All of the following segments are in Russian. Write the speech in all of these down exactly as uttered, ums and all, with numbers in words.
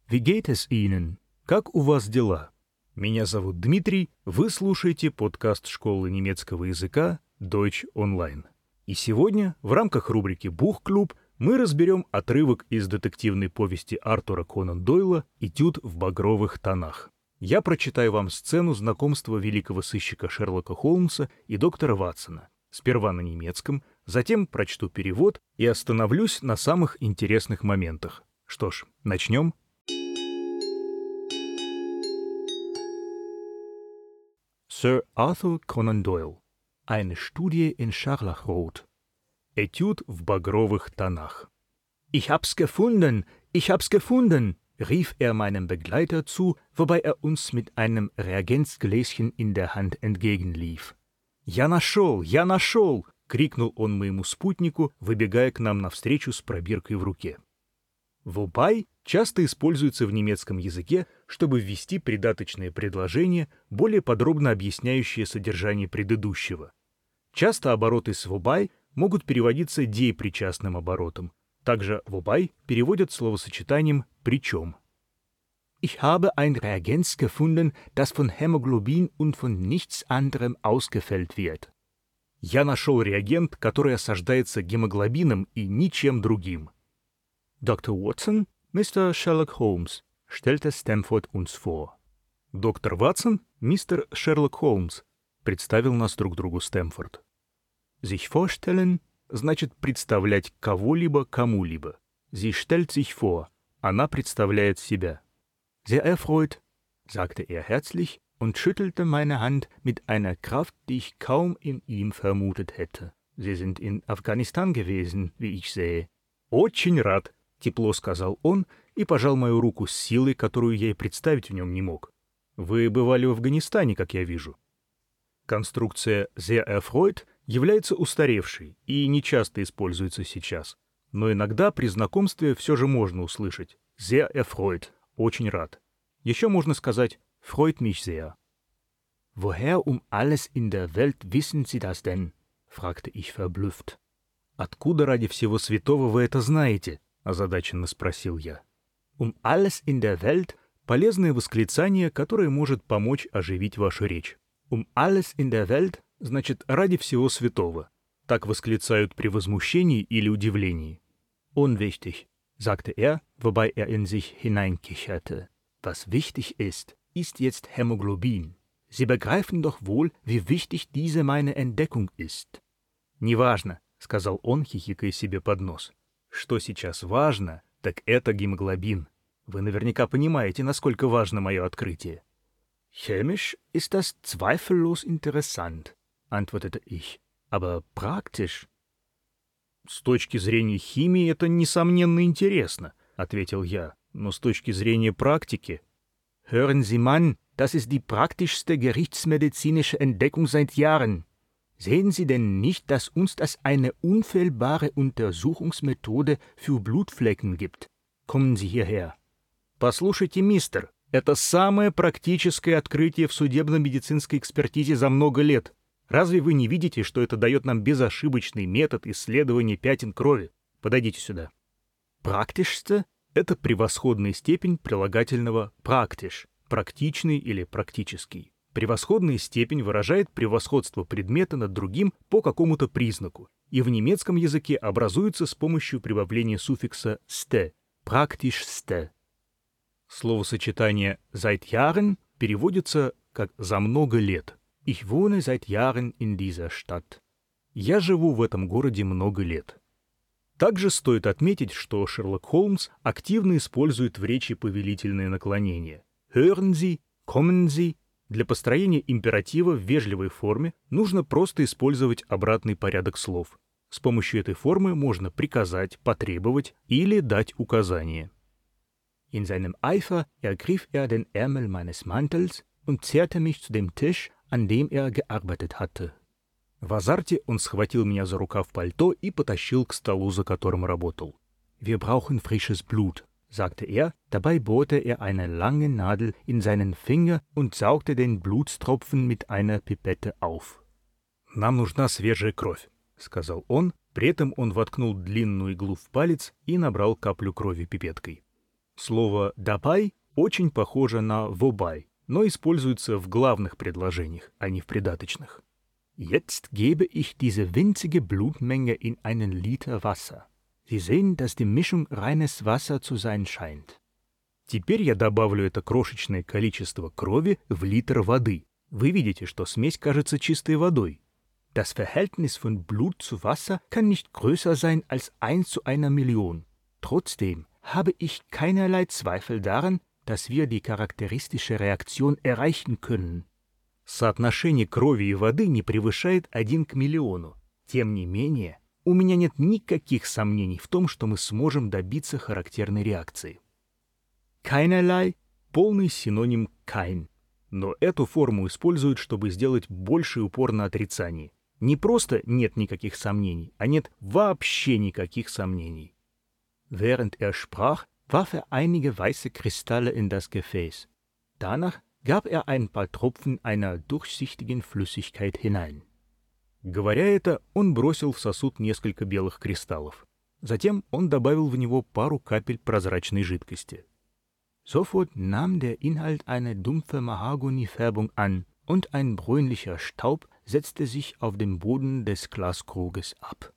Wie geht es Ihnen? Как у вас дела? Меня зовут Дмитрий, вы слушаете подкаст школы немецкого языка Deutsch Online. И сегодня в рамках рубрики «Бух-клуб» мы разберем отрывок из детективной повести Артура Конан Дойла «Этюд в багровых тонах». Я прочитаю вам сцену знакомства великого сыщика Шерлока Холмса и доктора Ватсона. Сперва на немецком, затем прочту перевод и остановлюсь на самых интересных моментах. Что ж, начнем. Sir Arthur Conan Doyle. Eine Studie in Scharlachrot. Этюд в багровых тонах. Ich hab's gefunden, ich hab's gefunden, rief er meinem Begleiter zu, wobei er uns mit einem Reagenzgläschen in der Hand entgegenlief. «Я нашел, я нашел!» — крикнул он моему спутнику, выбегая к нам навстречу с пробиркой в руке. Wobei часто используется в немецком языке, чтобы ввести придаточное предложение, более подробно объясняющее содержание предыдущего. Часто обороты с wobei могут переводиться деепричастным оборотом. Также wobei переводят словосочетанием «причем». Ich habe ein Reagenz gefunden, das von Hämoglobin und von nichts anderem ausgefällt wird. Я нашел реагент, который осаждается гемоглобином и ничем другим. Доктор Watson, мистер Шерлок Холмс, stellte Стэмфорд uns vor. Доктор Ватсон, мистер Шерлок Холмс, представил нас друг другу Стэмфорд. Sich vorstellen значит представлять кого-либо кому-либо. Sie stellt sich vor. Она представляет себя. Sehr erfreut, sagte er herzlich und schüttelte meine Hand mit einer Kraft, die ich kaum in ihm vermutet hätte. Sie sind in Afghanistan gewesen, wie ich sehe. Очень рад, тепло сказал он и пожал мою руку с силой, которую я и представить в нем не мог. Вы бывали в Афганистане, как я вижу. Конструкция sehr erfreut является устаревшей и не часто используется сейчас, но иногда при знакомстве все же можно услышать sehr erfreut, очень рад. Еще можно сказать freut mich sehr. Woher um alles in der Welt wissen Sie das denn? Fragte ich verblüfft. Откуда ради всего святого вы это знаете? Озадаченно спросил я. Um alles in der Welt — полезное восклицание, которое может помочь оживить вашу речь. Um alles in der Welt значит ради всего святого. Так восклицают при возмущении или удивлении. Unwichtig, sagte er, wobei er in sich hineinkicherte. Was wichtig ist, ist jetzt Hämoglobin. Sie begreifen doch wohl, wie wichtig diese meine Entdeckung ist. Неважно, сказал он, хихикая себе под нос. Что сейчас важно, так это гемоглобин. Вы наверняка понимаете, насколько важно мое открытие. Chemisch ist das zweifellos interessant, antwortete ich. Aber praktisch? С точки зрения химии это, несомненно, интересно, ответил я. Но с точки зрения практики... Hören Sie, Mann, das ist die praktischste gerichtsmedizinische Entdeckung seit Jahren. Sehen Sie denn nicht, dass uns das eine unfehlbare Untersuchungsmethode für Blutflecken gibt? Kommen Sie hierher. Послушайте, мистер, это самое практическое открытие в судебно-медицинской экспертизе за много лет. Разве вы не видите, что это дает нам безошибочный метод исследования пятен крови? Подойдите сюда. Практичste — это превосходная степень прилагательного «практиш», практичный или практический. Превосходная степень выражает превосходство предмета над другим по какому-то признаку, и в немецком языке образуется с помощью прибавления суффикса «ste» — «praktischste». Словосочетание «seit Jahren» переводится как «за много лет». Ich wohne seit Jahren in dieser Stadt. Я живу в этом городе много лет. Также стоит отметить, что Шерлок Холмс активно использует в речи повелительные наклонения. Hören Sie, kommen Sie. Для построения императива в вежливой форме нужно просто использовать обратный порядок слов. С помощью этой формы можно приказать, потребовать или дать указание. In seinem Eifer ergriff er den Ärmel meines Mantels und zerrte mich zu dem Tisch, an dem er gearbeitet hatte. В азарте он схватил меня за рукав пальто и потащил к столу, за которым работал. Wir brauchen frisches Blut, sagte er. Dabei bohrte er eine lange Nadel in seinen Finger und saugte den Blutstropfen mit einer Pipette auf. Нам нужна свежая кровь, сказал он. При этом он воткнул длинную иглу в палец и набрал каплю крови пипеткой. Слово «dabei» очень похоже на «wobei», но используется в главных предложениях, а не в придаточных. Jetzt gebe ich diese winzige Blutmenge in einen Liter Wasser. Sie sehen, dass die Mischung reines Wasser zu sein scheint. Теперь я добавлю это крошечное количество крови в литр воды. Вы видите, что смесь кажется чистой водой. Das Verhältnis von Blut zu Wasser kann nicht größer sein als eins zu einer Million. Trotzdem habe ich keinerlei Zweifel daran, dass wir die charakteristische Reaktion erreichen können. Соотношение крови и воды не превышает один к миллиону. Тем не менее, у меня нет никаких сомнений в том, что мы сможем добиться характерной реакции. Keinerlei – полный синоним kein. Но эту форму используют, чтобы сделать больший упор на отрицании. Не просто нет никаких сомнений, а нет вообще никаких сомнений. Während er sprach, warf er einige weiße Kristalle in das Gefäß. Danach gab er ein paar Tropfen einer durchsichtigen Flüssigkeit hinein. Говоря это, он бросил в сосуд несколько белых кристаллов. Затем он добавил в него пару капель прозрачной жидкости. Sofort nahm der Inhalt eine dumpfe Mahagoni-Färbung an und ein bräunlicher Staub setzte sich auf dem Boden des Glaskruges ab.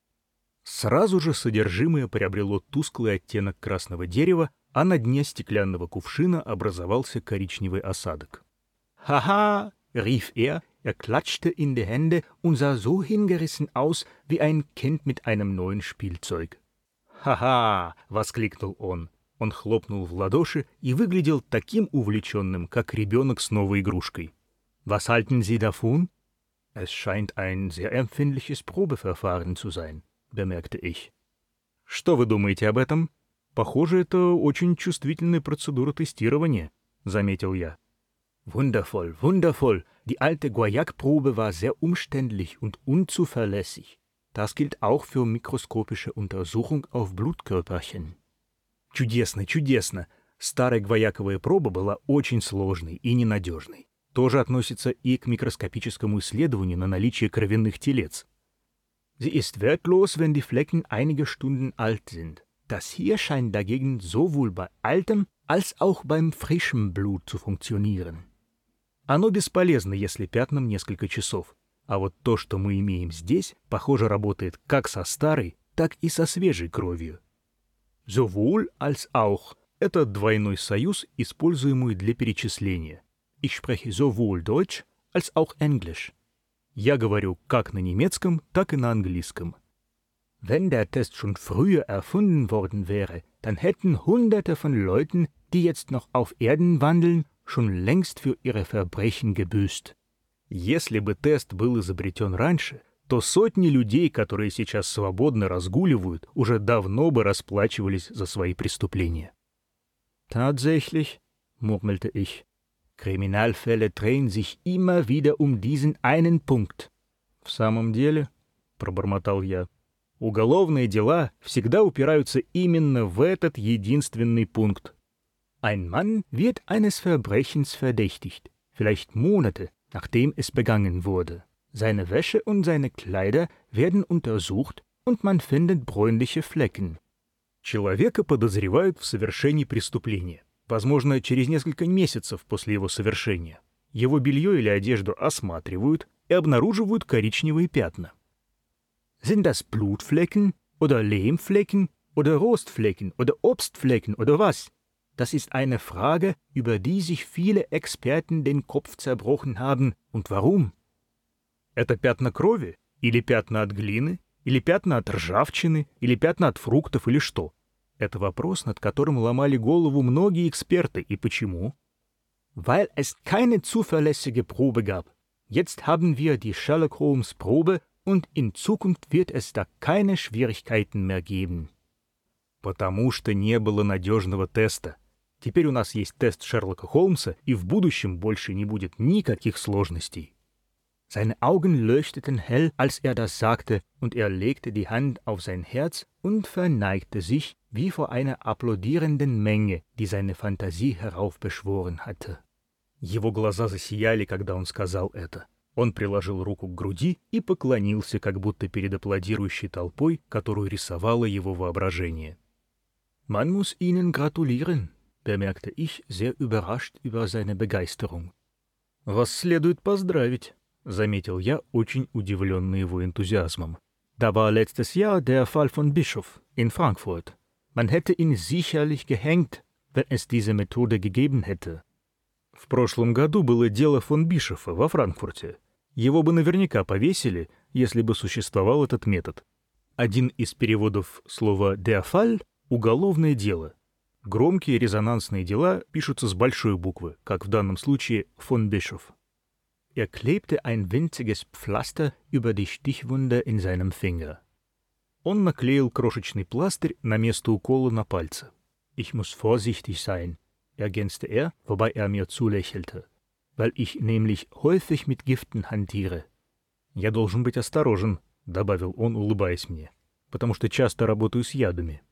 Сразу же содержимое приобрело тусклый оттенок красного дерева, а на дне стеклянного кувшина образовался коричневый осадок. «Ха-ха!» — rief er, er klatschte in die Hände und sah so hingerissen aus, wie ein Kind mit einem neuen Spielzeug. «Ха-ха!» — воскликнул он. Он хлопнул в ладоши и выглядел таким увлеченным, как ребенок с новой игрушкой. «Was halten Sie davon?» «Es scheint ein sehr empfindliches Probeverfahren zu sein», — bemerkte ich. «Что вы думаете об этом? Похоже, это очень чувствительная процедура тестирования», — заметил я. «Wundervoll, wundervoll. Die alte Guaiac-Probe war sehr umständlich und unzuverlässig. Das gilt auch für mikroskopische Untersuchung auf Blutkörperchen». «Чудесно, чудесно. Старая гвояковая проба была очень сложной и ненадежной. Тоже относится и к микроскопическому исследованию на наличие кровяных телец. Sie ist wertlos, wenn die Flecken einige Stunden alt sind. Das hier scheint dagegen sowohl bei altem als auch beim frischem Blut zu funktionieren. Оно бесполезно, если пятнам несколько часов. А вот то, что мы имеем здесь, похоже, работает как со старой, так и со свежей кровью. Sowohl als auch – это двойной союз, используемый для перечисления. Ich spreche sowohl Deutsch als auch Englisch. Я говорю как на немецком, так и на английском. Wenn der Test schon früher erfunden worden wäre, dann hätten Hunderte von Leuten, die jetzt noch auf Erden wandeln, schon längst für ihre Verbrechen gebüßt. Если бы тест был изобретен раньше, то сотни людей, которые сейчас свободно разгуливают, уже давно бы расплачивались за свои преступления. Tatsächlich, murmelte ich, Kriminalfälle drehen sich immer wieder um diesen einen Punkt. В самом деле, пробормотал я, уголовные дела всегда упираются именно в этот единственный пункт. Ein Mann wird eines Verbrechens verdächtigt, vielleicht Monate, nachdem es begangen wurde. Seine Wäsche und seine Kleider werden untersucht, und man findet bräunliche Flecken. Человека подозревают в совершении преступления, возможно, через несколько месяцев после его совершения. Его белье или одежду осматривают и обнаруживают коричневые пятна. Sind das Blutflecken oder Lehmflecken oder Rostflecken oder Obstflecken oder was? Das ist eine Frage, über die sich viele Experten den Kopf zerbrochen haben. Und warum? Это пятна крови? Или пятна от глины? Или пятна от ржавчины? Или пятна от фруктов? Или что? Это вопрос, над которым ломали голову многие эксперты. И почему? Weil es keine zuverlässige Probe gab. Jetzt haben wir die Sherlock Holmes Probe und in Zukunft wird es da keine Schwierigkeiten mehr geben. Потому что не было надежного теста. Теперь у нас есть тест Шерлока Холмса, и в будущем больше не будет никаких сложностей. Seine Augen leuchteten hell, als er das sagte, und er legte die Hand auf sein Herz und verneigte sich, wie vor einer applaudierenden Menge, die seine Fantasie heraufbeschworen hatte. Его глаза засияли, когда он сказал это. Он приложил руку к груди и поклонился, как будто перед аплодирующей толпой, которую рисовало его воображение. Man muss Ihnen gratulieren, bemerkte ich, sehr überrascht über seine Begeisterung. Вас следует поздравить, заметил я, очень удивленный его энтузиазмом. Da war letztes Jahr der Fall von Bischof in Frankfurt. Man hätte ihn sicherlich gehängt, wenn es diese Methode gegeben hätte. В прошлом году было дело фон Бишофа во Франкфурте. Его бы наверняка повесили, если бы существовал этот метод. Один из переводов слова «der Fall» — уголовное дело. Громкие резонансные дела пишутся с большой буквы, как в данном случае «von Bischof». Er klebte ein winziges Pflaster über die Stichwunde in seinem Finger. Он наклеил крошечный пластырь на место укола на пальце. Ich muss vorsichtig sein, ergänzte er, wobei er mir zulächelte, weil ich nämlich häufig mit Giften hantiere. Я должен быть осторожен, добавил он, улыбаясь мне, потому что часто работаю с ядами.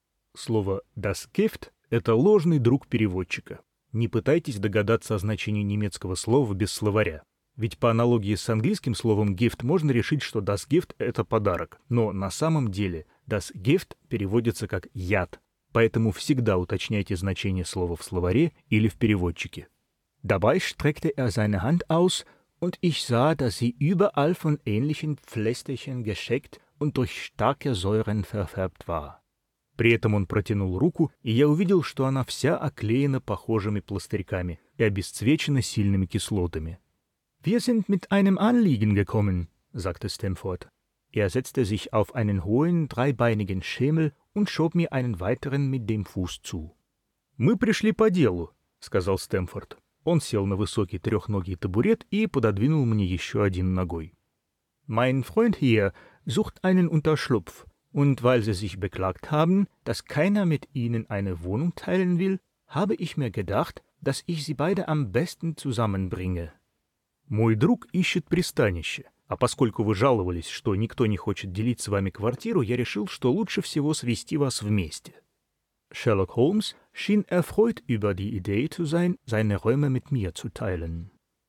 Слово «das Gift» — это ложный друг переводчика. Не пытайтесь догадаться о значении немецкого слова без словаря. Ведь по аналогии с английским словом «gift» можно решить, что das Gift — это подарок. Но на самом деле das Gift переводится как «яд». Поэтому всегда уточняйте значение слова в словаре или в переводчике. Dabei streckte er seine Hand aus, und ich sah, dass sie überall von ähnlichen Pflästerchen gescheckt und durch starke Säuren verfärbt war. При этом он протянул руку, и я увидел, что она вся оклеена похожими пластырьками и обесцвечена сильными кислотами. Wir sind mit einem Anliegen gekommen, sagte Stamford. Er setzte sich auf einen hohen, dreibeinigen Schemel und schob mir einen weiteren mit dem Fuß zu. «Мы пришли по делу», — сказал Стэмфорд. Он сел на высокий трехногий табурет и пододвинул мне еще один ногой. «Mein Freund hier sucht einen Unterschlupf, und weil Sie sich beklagt haben, dass keiner mit Ihnen eine Wohnung teilen will, habe ich mir gedacht, dass ich Sie beide am besten zusammenbringe». «Мой друг ищет пристанище, а поскольку вы жаловались, что никто не хочет делить с вами квартиру, я решил, что лучше всего свести вас вместе». Sherlock Holmes schien erfreut über die Idee zu sein, seine Räume mit mir zu teilen.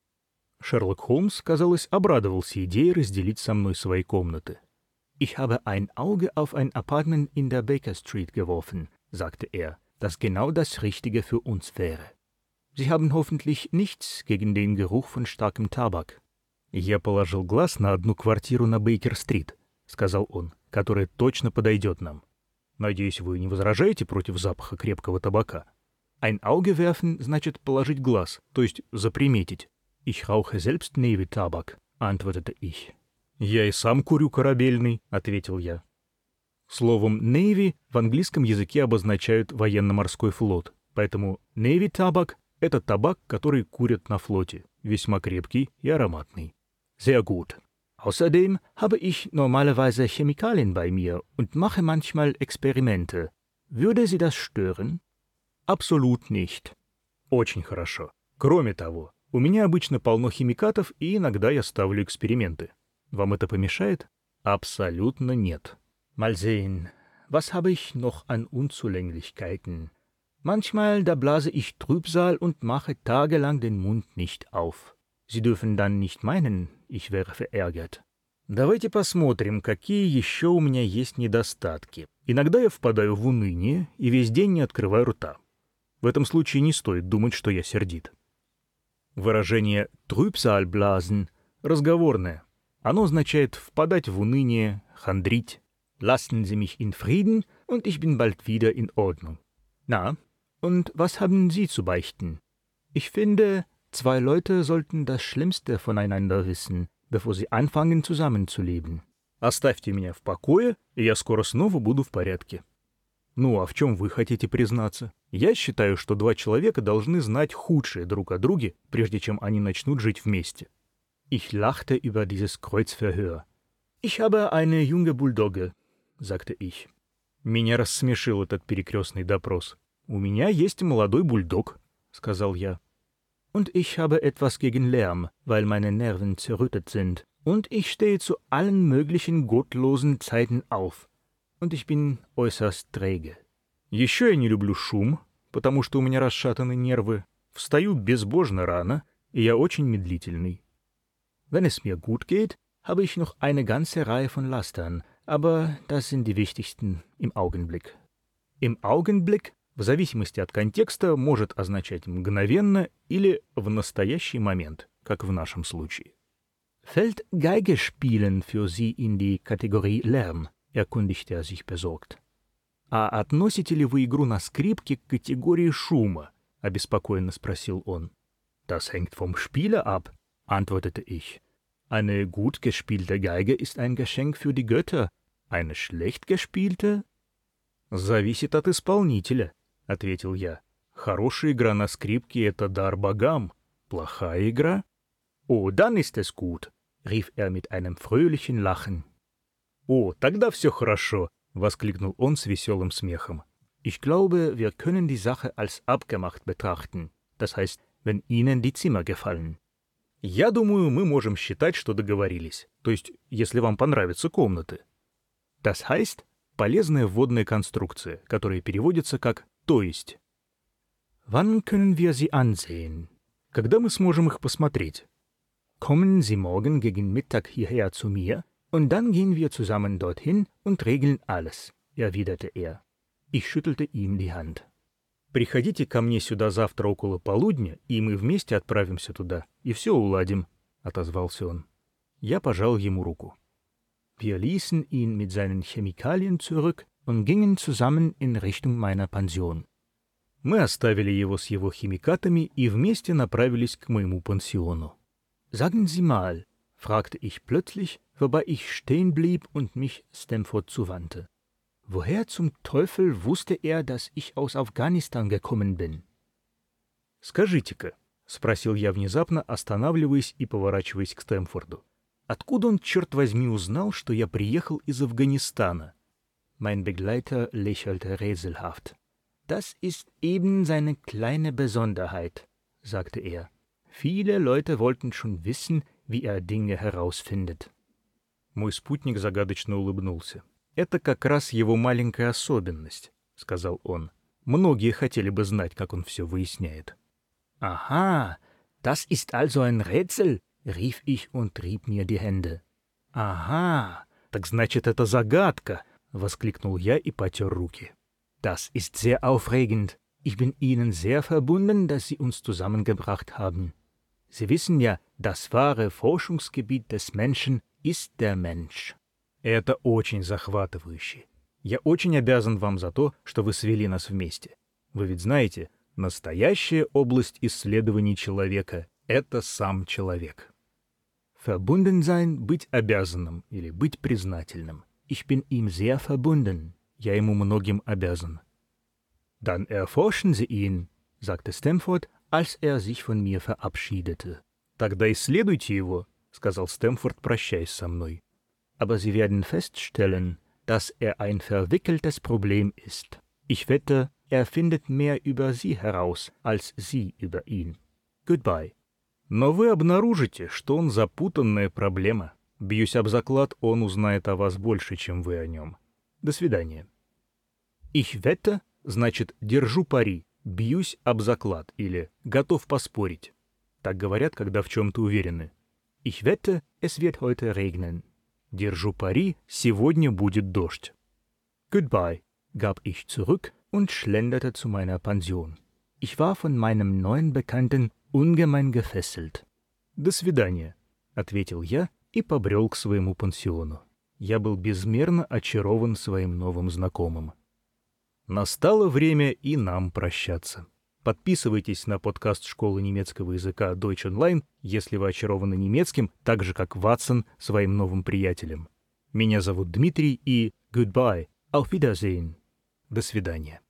Шерлок Холмс, казалось, обрадовался идее разделить со мной свои комнаты. «Ich habe ein Auge auf ein Apartment in der Baker Street geworfen», sagte er, «das genau das Richtige für uns wäre. Sie haben hoffentlich nichts gegen den Geruch von starkem Tabak». «Я положил глаз на одну квартиру на Бейкер-стрит», — сказал он, — «которая точно подойдет нам. Надеюсь, вы не возражаете против запаха крепкого табака? Ein Auge werfen значит положить глаз, то есть заприметить. Ich rauche selbst Navy-Tabak, antwortete ich. Я и сам курю корабельный, ответил я. Словом Navy в английском языке обозначают военно-морской флот, поэтому Navy-Tabak — это табак, который курят на флоте, весьма крепкий и ароматный. Sehr gut. Außerdem habe ich normalerweise Chemikalien bei mir und mache manchmal Experimente. Würde Sie das stören? Absolut nicht. Очень хорошо. Кроме того, у меня обычно полно химикатов, и иногда я ставлю эксперименты. Вам это помешает? Абсолютно нет. Mal sehen. Was habe ich noch an Unzulänglichkeiten? Manchmal, da blase ich Trübsal und mache tagelang den Mund nicht auf. Sie dürfen dann nicht meinen, ich wäre verärgert. Давайте посмотрим, какие еще у меня есть недостатки. Иногда я впадаю в уныние и весь день не открываю рта. В этом случае не стоит думать, что я сердит. Выражение «Trübsalblasen» разговорное. Оно означает впадать в уныние, хандрить. Lassen Sie mich in Frieden, und ich bin bald wieder in Ordnung. Na, und was haben Sie zu beichten? Ich finde, zwei Leute sollten das Schlimmste voneinander wissen, bevor sie anfangen zusammenzuleben. Оставьте меня в покое, и я скоро снова буду в порядке. Ну, а в чем вы хотите признаться? Я считаю, что два человека должны знать худшее друг о друге, прежде чем они начнут жить вместе. Ich lachte über dieses Kreuzverhör. Ich habe eine junge Bulldogge, sagte ich. Меня рассмешил этот перекрестный допрос. У меня есть молодой бульдог, сказал я. Und ich habe etwas gegen Lärm, weil meine Nerven zerrüttet sind. Und ich stehe zu allen möglichen gottlosen Zeiten auf. Und ich bin äußerst träge. Еще я не люблю шум, потому что у меня расшатаны нервы. Встаю безбожно рано, и я очень медлительный. Wenn es mir gut geht, habe ich noch eine ganze Reihe von Lastern, aber das sind die wichtigsten im Augenblick. Im Augenblick, в зависимости от контекста, может означать мгновенно или в настоящий момент, как в нашем случае. Fällt Geige spielen für Sie in die Kategorie Lärm? Erkundigte er sich besorgt. А относите ли вы игру на скрипке к категории шума? Обеспокоенно спросил он. Das hängt vom Spieler ab, antwortete ich. Eine gut gespielte Geige ist ein Geschenk für die Götter. Eine schlecht gespielte? Зависит от исполнителя, ответил я. Хорошая игра на скрипке — это дар богам. Плохая игра? Oh, dann ist es gut, rief er mit einem fröhlichen Lachen. О, тогда все хорошо, воскликнул он с веселым смехом. Ich glaube, wir können die Sache als abgemacht betrachten. Das heißt, wenn Ihnen die Zimmer gefallen. Я думаю, мы можем считать, что договорились. То есть, если вам понравятся комнаты. Das heißt, полезная вводная конструкция, которая переводится как «то есть». Wann können wir sie ansehen? Когда мы сможем их посмотреть? Kommen Sie morgen gegen Mittag hierher zu mir, und dann gehen wir zusammen dorthin und regeln alles, erwiderte er. Ich schüttelte ihm die Hand. Приходите ко мне сюда завтра около полудня, и мы вместе отправимся туда, и все уладим, отозвался он. Я пожал ему руку. Wir ließen ihn mit seinen Chemikalien zurück und gingen zusammen in Richtung meiner Pension. Мы оставили его с его химикатами и вместе направились к моему пансиону. Sagen Sie mal, fragte ich plötzlich, wobei ich stehen blieb und mich Stamford zuwandte. Woher zum Teufel wusste er, dass ich aus Afghanistan gekommen bin? Скажите-ка, спросил я внезапно, останавливаясь и поворачиваясь к Стэмфорду. Откуда он, черт возьми, узнал, что я приехал из Афганистана? Mein Begleiter lächelte rätselhaft. Das ist eben seine kleine Besonderheit, sagte er. Viele Leute wollten schon wissen, wie er Dinge herausfindet. Мой спутник загадочно улыбнулся. «Это как раз его маленькая особенность», — сказал он. «Многие хотели бы знать, как он все выясняет». «Aha, das ist also ein Rätsel», — rief ich und rieb mir die Hände. «Ага, так значит, это загадка», — воскликнул я и потер руки. «Das ist sehr aufregend. Ich bin Ihnen sehr verbunden, dass Sie uns zusammengebracht haben. Sie wissen ja, das wahre Forschungsgebiet des Menschen ist der Mensch». Это очень захватывающе. Я очень обязан вам за то, что вы свели нас вместе. Вы ведь знаете, настоящая область исследований человека — это сам человек. Verbunden sein — быть обязанным или быть признательным. Ich bin ihm sehr verbunden. Я ему многим обязан. Dann erforschen Sie ihn, sagte Стэмфорд, als er sich von mir verabschiedete. Тогда исследуйте его, сказал Стэмфорд, прощаясь со мной. Aber Sie werden feststellen, dass er ein verwickeltes Problem ist. Ich wette, er findet mehr über Sie heraus, als Sie über ihn. Goodbye. Но вы обнаружите, что он запутанная проблема. Бьюсь об заклад, он узнает о вас больше, чем вы о нем. До свидания. Ich wette, значит, держу пари, бьюсь об заклад или готов поспорить. Так говорят, когда в чем-то уверены. Ich wette, es wird heute regnen. Держу пари, сегодня будет дождь. Goodbye, gab ich zurück und schlenderte zu meiner Pension. Ich war von meinem neuen Bekannten ungemein gefesselt. До свидания, ответил я и побрел к своему пансиону. Я был безмерно очарован своим новым знакомым. Настало время и нам прощаться. Подписывайтесь на подкаст школы немецкого языка Deutsch Online, если вы очарованы немецким, так же, как Ватсон своим новым приятелем. Меня зовут Дмитрий и goodbye, auf Wiedersehen. До свидания.